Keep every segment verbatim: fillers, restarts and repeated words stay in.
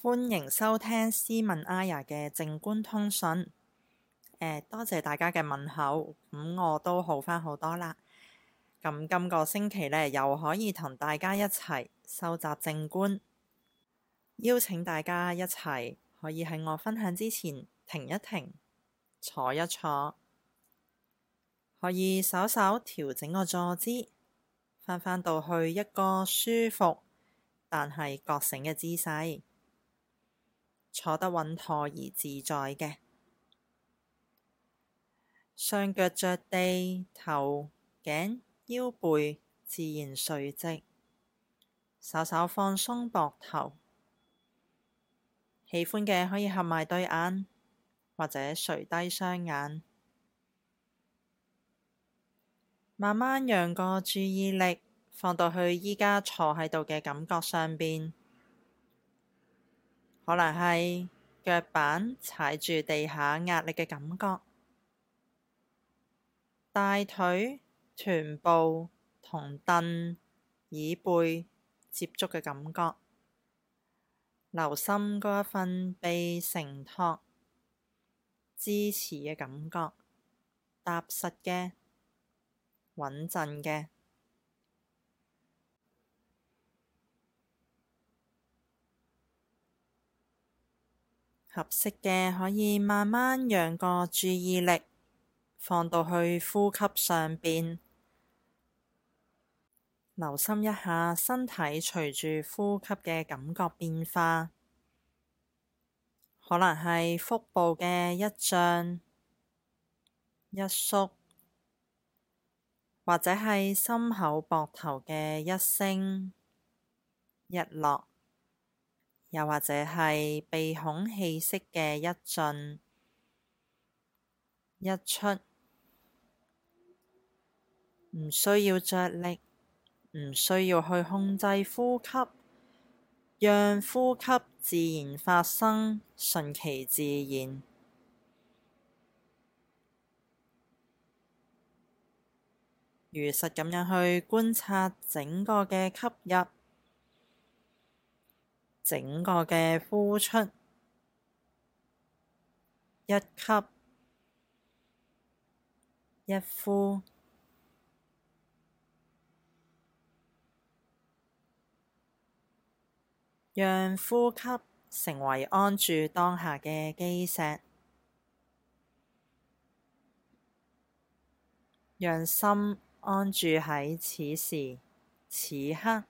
歡迎收聽斯文阿雅嘅靜觀通訊。呃、多謝大家嘅問候，咁、嗯、我都好返好多啦。咁今個星期呢，又可以同大家一齊收集靜觀，邀請大家一齊可以喺我分享之前停一停，坐一坐，可以稍稍調整個坐姿，返返到去一個舒服但係覺醒嘅姿勢。坐得穩妥而自在嘅，雙腳着地，頭、頸、腰背自然垂直，稍稍放鬆膊頭。喜歡嘅可以合埋對眼，或者垂低雙眼，慢慢讓個注意力放到去依家坐喺度嘅感覺上邊。可能係腳板踩住地下壓力嘅感覺，大腿、臀部同凳、椅背接觸嘅感覺，留心嗰一份被承托、支持嘅感覺，踏實嘅、穩陣嘅。合適嘅可以慢慢讓個注意力放到去呼吸上邊，留心一下身體隨住呼吸嘅感覺變化，可能係腹部嘅一脹一縮，或者係心口膊頭嘅一升一落。又或者係鼻孔氣息嘅一進一出，唔需要着力，唔需要去控制呼吸，讓呼吸自然發生，順其自然。如實咁樣去觀察整個嘅吸入，整個嘅呼出，一吸一呼，讓呼吸成為安住當下嘅基石，讓心安住喺此時此刻。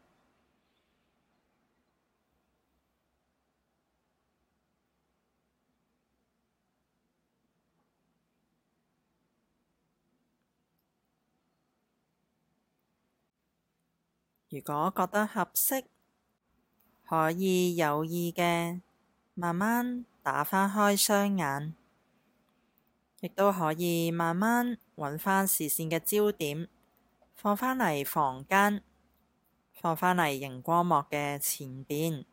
如果覺得合適，可以有意嘅慢慢打翻開雙眼，亦都可以慢慢揾返視線嘅焦點，放返嚟房間，放返嚟熒光幕嘅前邊。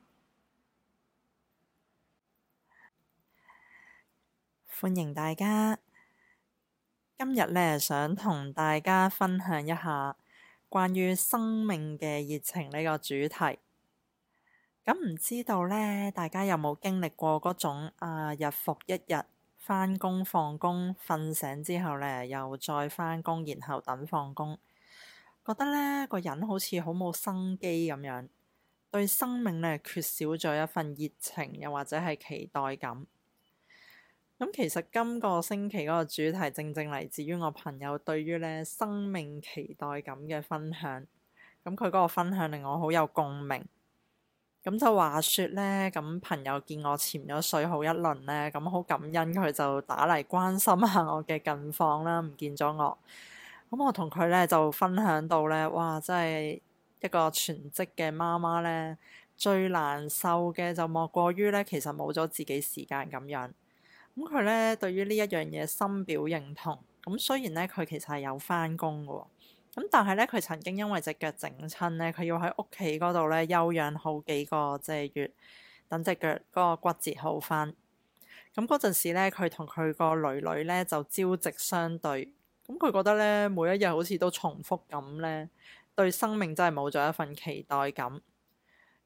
歡迎大家，今日呢，想同大家分享一下關於生命嘅熱情呢個主題。咁唔知道呢，大家有冇經歷過嗰種啊日復一日返工放工，瞓醒之後呢，又再返工，然後等放工，覺得呢個人好似好冇生機咁樣，對生命呢缺少咗一份熱情，又或者係期待感。咁其實今個星期嗰個主題正正嚟自於我朋友對於呢生命期待感嘅分享。咁佢嗰個分享令我好有共鳴。咁就話說呢，咁朋友見我潛咗水好一輪呢，咁好感恩佢就打嚟關心下我嘅近況啦，唔見咗我。咁我同佢呢就分享到呢：「哇！真係一個全職嘅媽媽呢，最難受嘅就莫過於呢，其實冇咗自己時間咁樣。咁佢咧對於呢一樣嘢深表認同。咁雖然咧佢其實係有返工嘅，咁但係咧佢曾經因為隻腳整親咧，佢要喺屋企嗰度咧休養好幾個即係月，等隻腳嗰個骨折好返。咁嗰陣時咧，佢同佢個女女咧就朝夕相對。咁佢覺得咧每一日好似都重複咁咧，對生命真係冇咗一份期待感。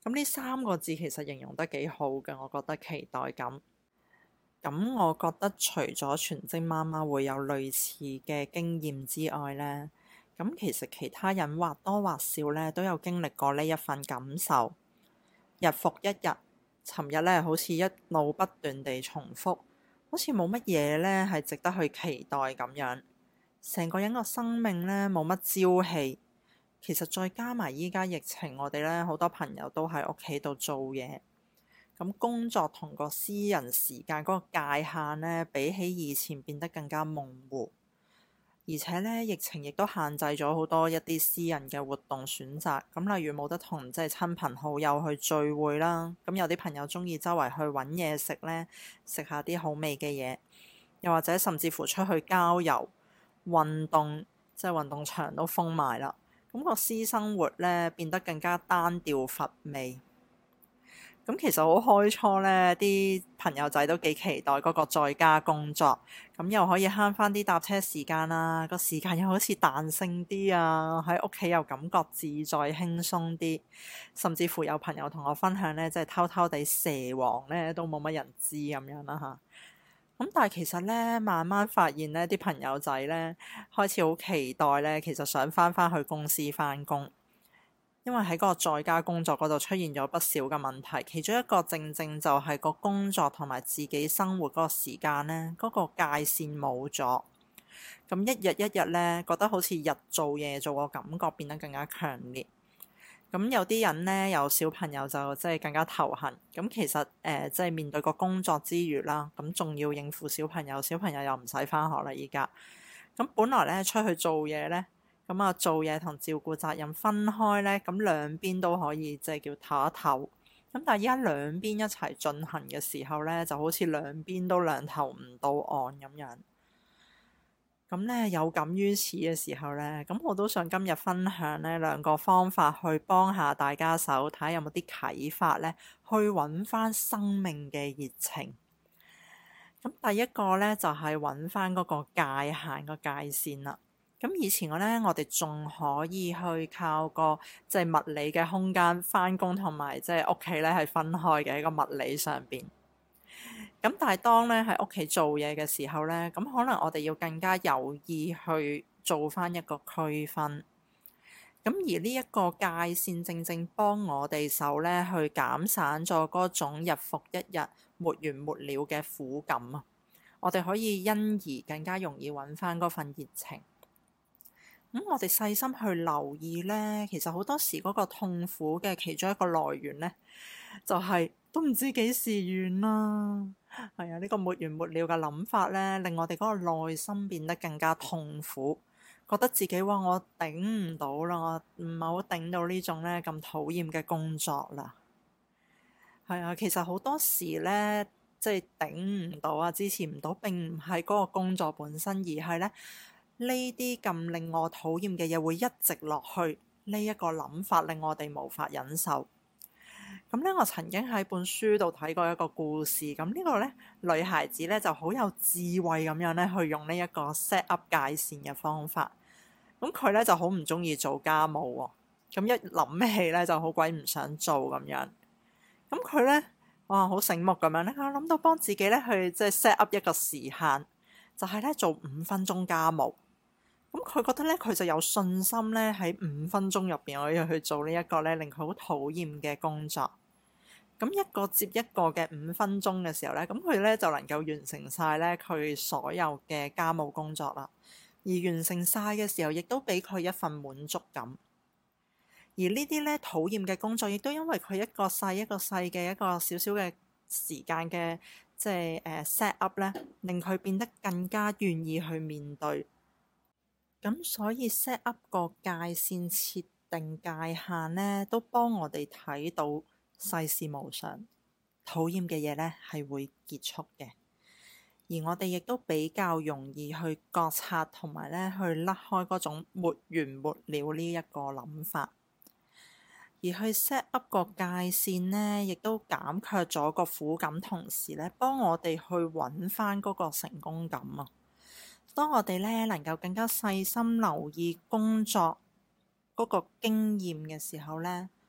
咁呢三個字其實形容得幾好嘅，我覺得期待感。咁我覺得除咗全職媽媽會有類似嘅經驗之外呢，咁其實其他人或多或少呢都有經歷過呢一份感受。日復一日，尋日呢好似一路不斷地重複，好似冇乜嘢呢係值得去期待咁樣。成個人個生命呢冇乜朝氣。其實再加埋依家疫情，我哋呢好多朋友都喺屋企度做嘢。咁工作同個私人時間嗰個界限呢，比起以前變得更加模糊，而且呢，疫情亦都限制咗好多一啲私人嘅活動選擇。咁例如冇得同即係親朋好友去聚會啦，咁有啲朋友中意周圍去揾嘢食呢，食下啲好味嘅嘢，又或者甚至乎出去郊遊、運動，即係運動場都封埋啦。咁個私生活呢，變得更加單調乏味。咁其實好開初呢，啲朋友仔都幾期待嗰個在家工作，咁又可以慳翻啲搭車時間啦，個時間又好似彈性啲啊，喺屋企又感覺自在輕鬆啲，甚至乎有朋友同我分享呢，即係偷偷地蛇王呢都冇乜人知咁樣啦嚇。咁但係其實呢，慢慢發現呢啲朋友仔呢，開始好期待呢，其實想翻返去公司翻工。因為喺嗰個在家工作嗰度出現咗不少嘅問題，其中一個正正就係個工作同埋自己生活嗰個時間呢，嗰個界線冇咗。咁一日一日呢，覺得好似日做夜做個感覺變得更加強烈。咁有啲人呢，有小朋友就即係更加頭痕。咁其實誒，即係面對個工作之餘啦，咁仲要應付小朋友，小朋友又唔使返學啦依家。咁本來呢，出去做嘢呢。咁啊，做嘢同照顧責任分開呢，咁兩邊都可以即係叫唞一唞。咁但係依家兩邊一齊進行嘅時候呢，就好似兩邊都兩頭唔到岸咁樣。咁呢，有感於此嘅時候呢，咁我都想今日分享呢兩個方法去幫下大家手，睇下有冇啲啟發呢，去揾翻生命嘅熱情。咁第一個呢，就係揾翻嗰個界限個界線啦。咁以前我呢，我哋仲可以去靠個即係物理嘅空間返工同埋即係屋企呢係分開嘅，喺個物理上邊。咁但係當呢喺屋企做嘢嘅時候呢，咁可能我哋要更加有意去做返一個區分。咁而呢一個界線正正幫我哋手呢，去減散咗嗰種日復一日沒完沒了嘅苦感啊！我哋可以因而更加容易揾返嗰份熱情。咁、嗯、我哋細心去留意呢，其實好多時嗰個痛苦嘅其中一個來源呢，就係、是、都唔知幾時完啦。係啊，呢、這個沒完沒了嘅諗法呢，令我哋嗰個內心變得更加痛苦，覺得自己話我頂唔到啦，我唔係好頂到呢種呢咁討厭嘅工作啦。係啊，其實好多時呢，即係頂唔到啊，支持唔到，並唔係嗰個工作本身，而係呢。呢啲咁令我討厭嘅嘢會一直落去，呢一個諗法令我哋無法忍受。咁呢，我曾經喺本書度睇過一個故事。咁呢個呢，女孩子呢就好有智慧咁樣呢去用呢一個 set up 界線嘅方法。咁佢呢就好唔中意做家務喎。咁一諗起呢就好鬼唔想做咁樣。咁佢呢，哇，好醒目咁樣呢，我諗到幫自己呢去即係 set up 一個時限，就係呢做五分鐘家務。咁佢覺得咧，佢就有信心咧喺五分鐘入邊可以去做呢一個咧令佢好討厭嘅工作。咁一個接一個嘅五分鐘嘅時候咧，咁佢咧就能夠完成晒咧佢所有嘅家務工作啦。而完成晒嘅時候，亦都俾佢一份滿足感。而呢啲咧討厭嘅工作，亦都因為佢一個細一個細嘅一個少少嘅時間嘅即係誒 set up 咧，令佢變得更加願意去面對。咁所以 set up 個界線、設定界限呢，都幫我哋睇到世事無常，討厭嘅嘢呢係會結束嘅。而我哋亦都比較容易去覺察同埋呢去甩開嗰種沒完沒了呢一個諗法，而去 set up 個界線呢，亦都減卻咗個苦感，同時呢幫我哋去揾翻嗰個成功感啊！當我哋咧能夠更加細心留意工作嗰個經驗嘅時候咧，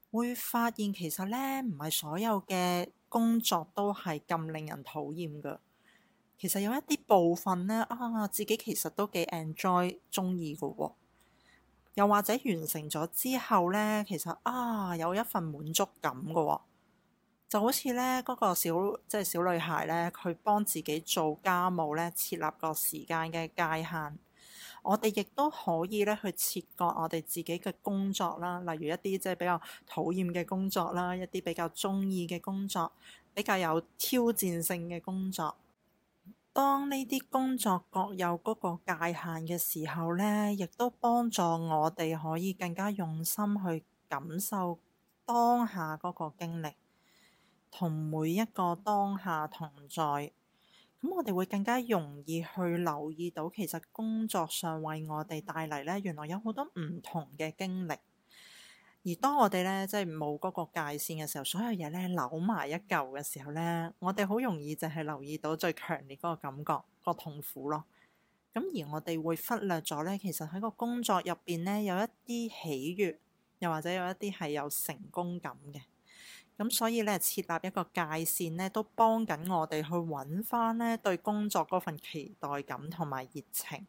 會發現其實呢，唔係所有嘅工作都係咁令人討厭㗎。其實有一啲部分呢，啊，自己其實都幾 enjoy 鍾意㗎喎。又或者完成咗之後呢，其實啊有一份滿足感㗎喎。就好似呢嗰個小即係小女孩呢，佢幫自己做家務呢，設立個時間嘅界限。我哋亦都可以咧去切割我哋自己嘅工作啦，例如一啲即係比較討厭嘅工作啦，一啲比較中意嘅工作，比較有挑戰性嘅工作。當呢啲工作各有嗰個界限嘅時候呢，亦都幫助我哋可以更加用心去感受當下嗰個經歷，同每一個當下同在。咁我哋會更加容易去留意到，其實工作上為我哋帶嚟呢，原來有好多唔同嘅經歷。而當我哋呢，即係冇嗰個界線嘅時候，所有嘢呢扭埋一嚿嘅時候呢，我哋好容易就係留意到最強烈嗰個感覺，個痛苦咯。咁而我哋會忽略咗呢，其實喺個工作入邊呢，有一啲喜悅，又或者有一啲係有成功感嘅。咁所以咧，設立一個界線咧，都幫緊我哋去揾翻咧對工作嗰份期待感同埋熱情。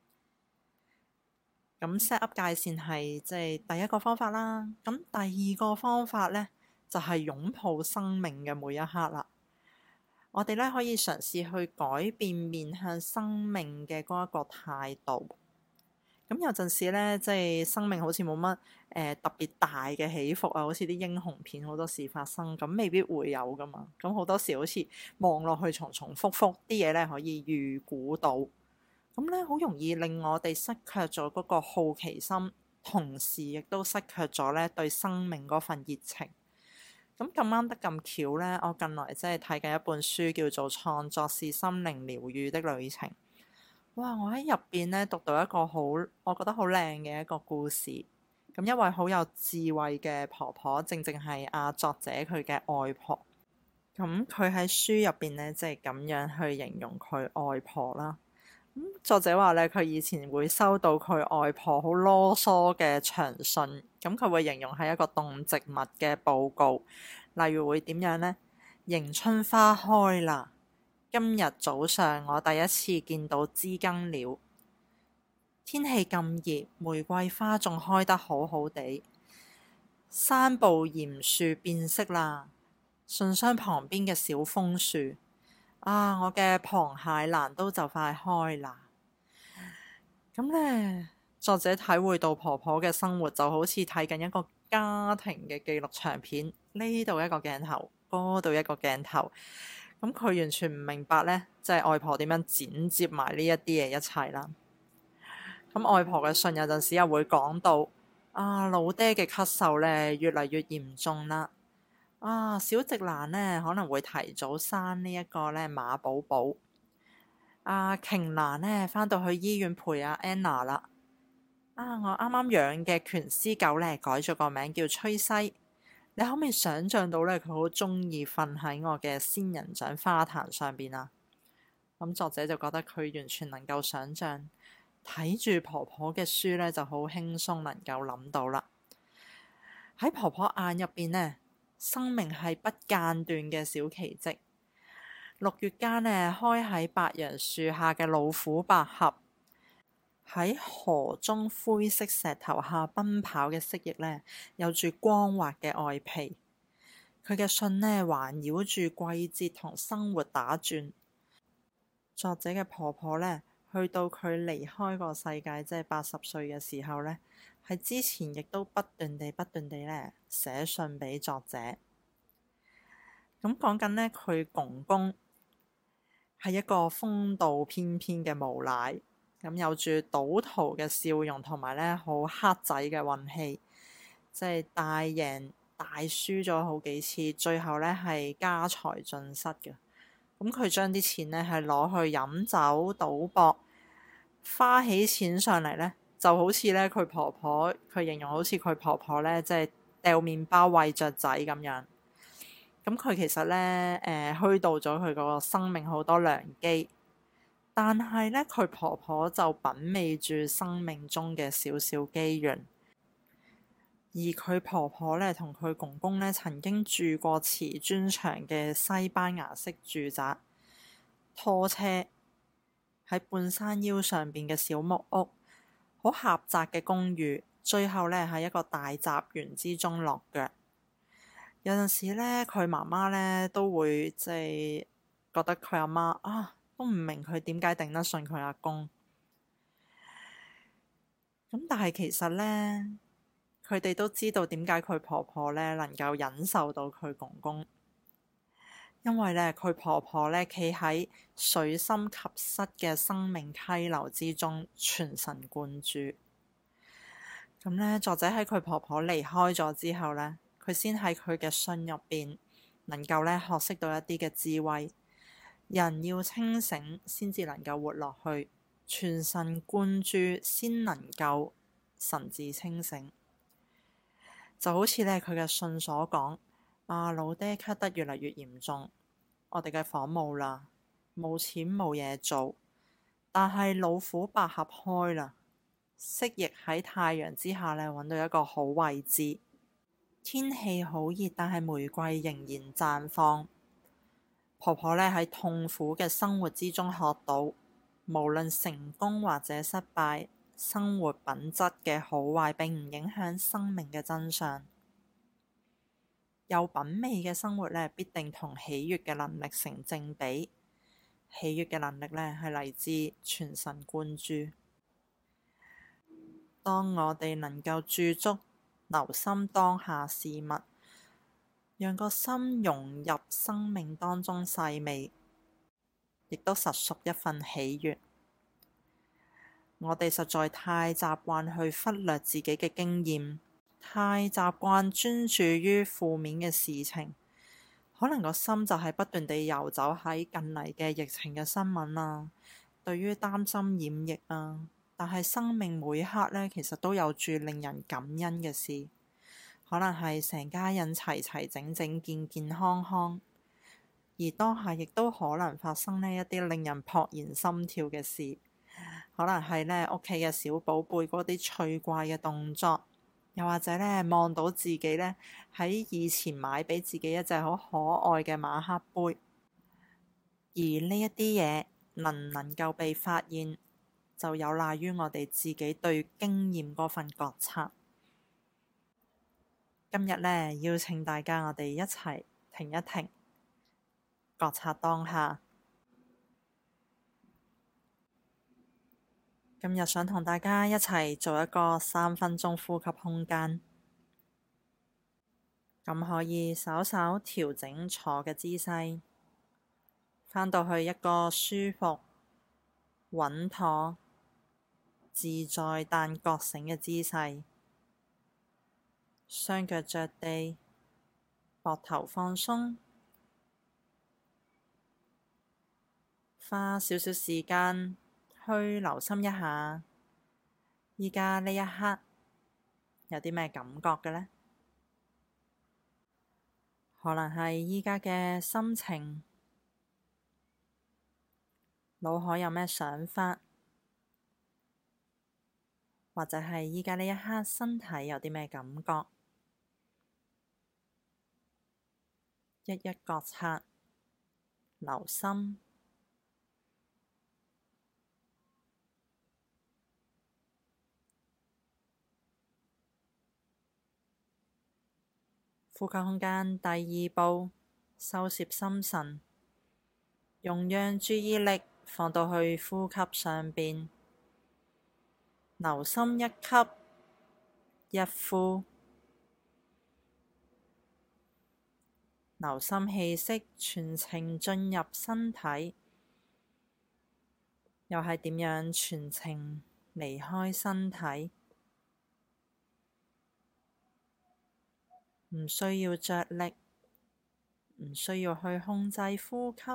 咁 set up 界線係即係第一個方法啦。咁第二個方法咧，就係擁抱生命嘅每一刻啦。我哋咧可以嘗試去改變面向生命嘅嗰一個態度。咁有陣時咧，即係生命好似冇乜誒特別大嘅起伏啊，好似啲英雄片好多事發生，咁未必會有噶嘛。咁好多時好似望落去重重複複啲嘢咧，可以預估到，咁咧好容易令我哋失卻咗嗰個好奇心，同時亦都失卻咗咧對生命嗰份熱情。咁咁啱得咁巧咧，我近來即係睇緊一本書，叫做《創作是心靈療癒的旅程》。哇！我喺入邊咧讀到一個好，我覺得好靚嘅一個故事。咁一位好有智慧嘅婆婆，正正係阿作者佢嘅外婆。咁佢喺書入邊咧，即係咁樣去形容佢外婆啦。咁作者話咧，佢以前會收到佢外婆好囉嗦嘅長信，咁佢會形容係一個動植物嘅報告，例如會點樣呢？迎春花開啦！今日早上我第一次見到知更鳥，天氣咁熱，玫瑰花仲開得好好地。山步鹽樹變色啦，信箱旁邊嘅小楓樹，啊，我嘅螃蟹蘭都就快開啦。咁呢，作者體會到婆婆嘅生活就好似睇緊一個家庭嘅紀錄長片，呢度一個鏡頭，嗰度一個鏡頭。咁佢完全唔明白呢，即係外婆點樣剪接埋呢一啲嘢一齊啦。咁外婆嘅信有陣時又會講到啊，老爹嘅咳嗽呢越嚟越嚴重啦。啊，小直蘭呢可能會提早生呢一個呢馬寶寶。啊，瓊蘭呢返到去醫院陪阿 Anna 啦。啊，我啱啱養嘅拳師狗呢改咗個名叫崔西。你可唔可以想像到咧，佢好中意瞓喺我嘅仙人掌花壇上邊啊？咁作者就覺得佢完全能夠想像，睇住婆婆嘅書咧就好輕鬆，能夠諗到啦。喺婆婆眼入邊呢，生命係不間斷嘅小奇蹟。六月間呢，開喺白楊樹下嘅老虎百合，喺河中灰色石頭下奔跑嘅蜥蜴呢，有住光滑嘅外皮。佢嘅信呢，環繞住季節同生活打轉。作者嘅婆婆呢，去到佢離開個世界，即係八十歲嘅時候呢，喺之前亦都不斷地、不斷地呢寫信俾作者。咁講緊呢，佢公公係一個風度翩翩嘅無賴。咁有住賭徒嘅笑容，同埋咧好黑仔嘅運氣，即係大贏大輸咗好幾次，最後咧係家財盡失嘅。咁佢將啲錢咧係攞去飲酒賭博，花起錢上嚟咧就好似咧佢婆婆，佢形容好似佢婆婆咧即係掉麵包餵雀仔咁樣。咁佢其實咧誒虛度咗佢個生命好多良機。但係咧，佢婆婆就品味住生命中嘅少少機緣。 而佢婆婆呢，同佢公公呢，曾經住過瓷磚牆嘅西班牙式住宅，拖車喺半山腰上邊嘅小木屋，好狹窄嘅公寓，最後呢，喺一個大雜園之中落腳。有陣時呢，佢媽媽呢都會即係覺得佢阿媽啊，都唔明佢點解頂得順佢阿公。咁但係其實呢，佢哋都知道點解佢婆婆呢能夠忍受到佢公公，因為呢，佢婆婆呢企喺水深及膝嘅生命溪流之中，全神貫注。咁呢，作者喺佢婆婆離開咗之後呢，佢先喺佢嘅信入邊能夠呢學識到一啲嘅智慧。人要清醒先至能夠活落去，全神貫注先能夠神志清醒。就好似呢，佢嘅信所講，啊老爹咳得越嚟越嚴重，我哋嘅房冇啦，冇錢冇嘢做，但係老虎百合開啦，蜥蜴喺太陽之下呢揾到一個好位置，天氣好熱，但係玫瑰仍然綻放。婆婆呢喺痛苦嘅生活之中學到，無論成功或者失敗，生活品質嘅好壞並唔影響生命嘅真相。有品味嘅生活呢，必定同喜悅嘅能力成正比。喜悅嘅能力呢，係嚟自全神貫注。當我哋能夠駐足，留心當下事物，讓個心融入生命當中細味，亦都實屬一份喜悅。我哋實在太習慣去忽略自己嘅經驗，太習慣專注於負面嘅事情，可能個心就係不斷地遊走喺近嚟嘅疫情嘅新聞啊，對於擔心染疫啊，但係生命每刻呢，其實都有住令人感恩嘅事。可能係成家人齊齊整整、健健康康，而當下亦都可能發生呢一啲令人怦然心跳嘅事。可能係呢屋企嘅小寶貝嗰啲趣怪嘅動作，又或者呢望到自己呢喺以前買俾自己一隻好可愛嘅馬克杯，而呢一啲嘢能唔能夠被發現，就有賴於我哋自己對經驗嗰份覺察。今日呢，邀請大家我哋一齊停一停，覺察當下。今日想同大家一齊做一個三分鐘呼吸空間，咁可以稍稍調整坐嘅姿勢，返到去一個舒服、穩妥、自在但覺醒嘅姿勢。雙腳着地，膊頭放鬆，花少少時間去留心一下，而家呢一刻有啲咩感覺嘅呢？可能係而家嘅心情，腦海有咩想法，或者係而家呢一刻身體有啲咩感覺。一一覺察，留心，呼吸空間第二步，收攝心神，容讓注意力放到去呼吸上邊，留心一吸一呼。留心氣息全程進入身體，又係點樣全程離開身體？唔需要着力，唔需要去控制呼吸，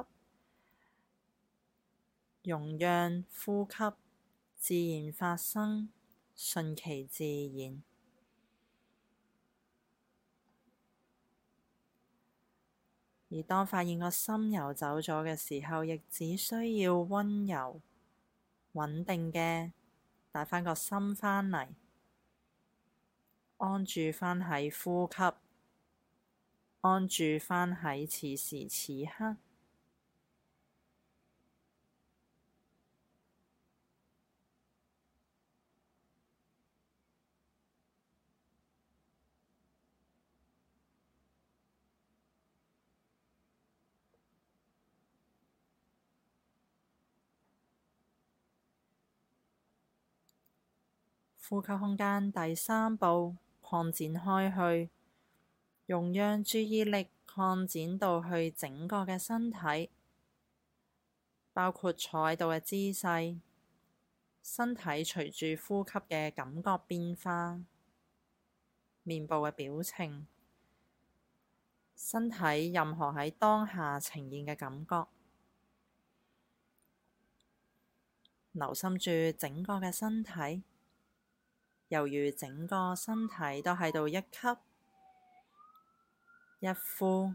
容讓呼吸自然發生，順其自然。而當發現個心游走咗嘅時候，亦只需要溫柔、穩定嘅帶返個心返嚟， 安住返喺呼吸，安住返喺此時此刻。呼吸空間第三步，擴展開去，容讓注意力擴展到去整個嘅身體，包括坐喺度嘅姿勢，身體隨住呼吸嘅感覺變化，面部嘅表情，身體任何喺當下呈現嘅感覺，留心住整個嘅身體。猶如整個身體都喺度一吸一呼，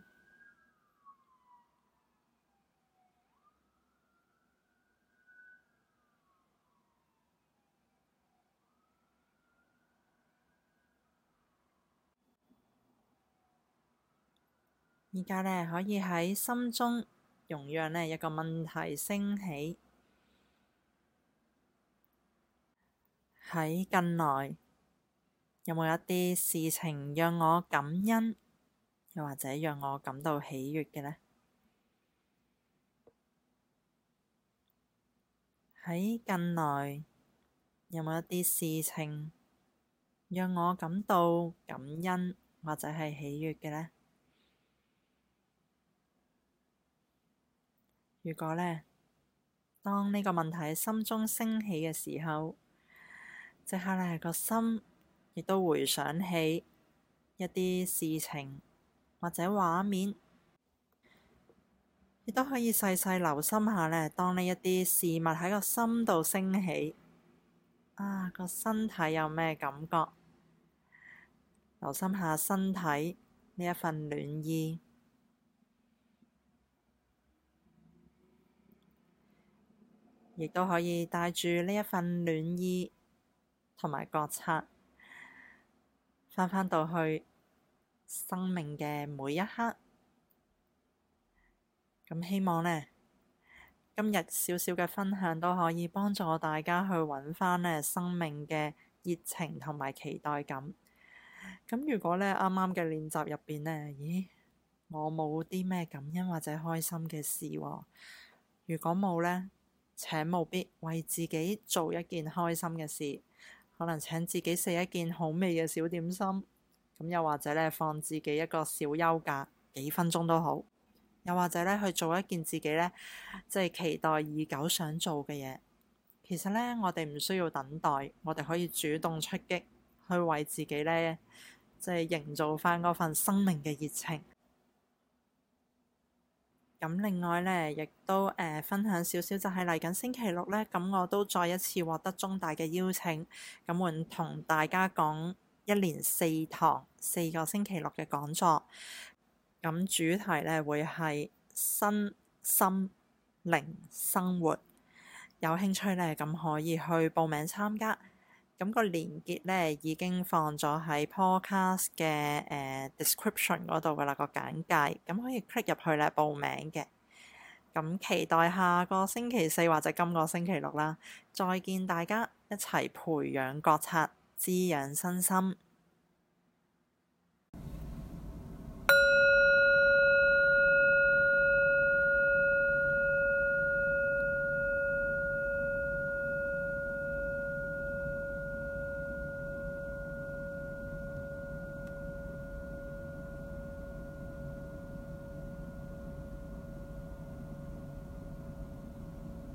而家呢，可以喺心中容讓呢一個問題升起。喺近來有冇一啲事情讓我感恩，又或者讓我感到喜悅嘅呢？喺近來有冇一啲事情讓我感到感恩，或者係喜悅嘅呢？如果呢，當呢個問題喺心中升起嘅時候，即刻呢個心亦都回想起一啲事情或者畫面，亦都可以細細留心下呢，當呢一啲事物喺個心度升起，啊，個身體有咩感覺？留心下身體呢一份暖意，亦都可以帶住呢一份暖意同埋覺察，返返到去生命嘅每一刻。咁希望呢，今日少少嘅分享都可以幫助大家去揾返呢生命嘅熱情同埋期待感。咁如果呢啱啱嘅練習入邊呢，咦，我冇啲咩感恩或者開心嘅事喎。如果冇呢，請務必為自己做一件開心嘅事。可能請自己食一件好味嘅小點心，咁又或者呢，放自己一個小休假，幾分鐘都好。又或者呢，去做一件自己呢，即係期待已久想做嘅嘢。其實呢，我哋唔需要等待，我哋可以主動出擊，去為自己呢，即係營造返嗰份生命嘅熱情。咁另外呢，亦都誒、呃、分享少少，就係嚟緊星期六呢，咁我都再一次獲得中大嘅邀請，咁會同大家講一連四堂四個星期六嘅講座。咁主題呢，會係身心靈生活，有興趣呢，咁可以去報名參加。咁個連結呢，已經放咗喺 Podcast 嘅誒、呃、description 嗰度噶啦，個簡介，咁可以 click 入去咧報名嘅。咁期待下個星期四或者今個星期六啦，再見大家，一齊培養覺察，滋養身心。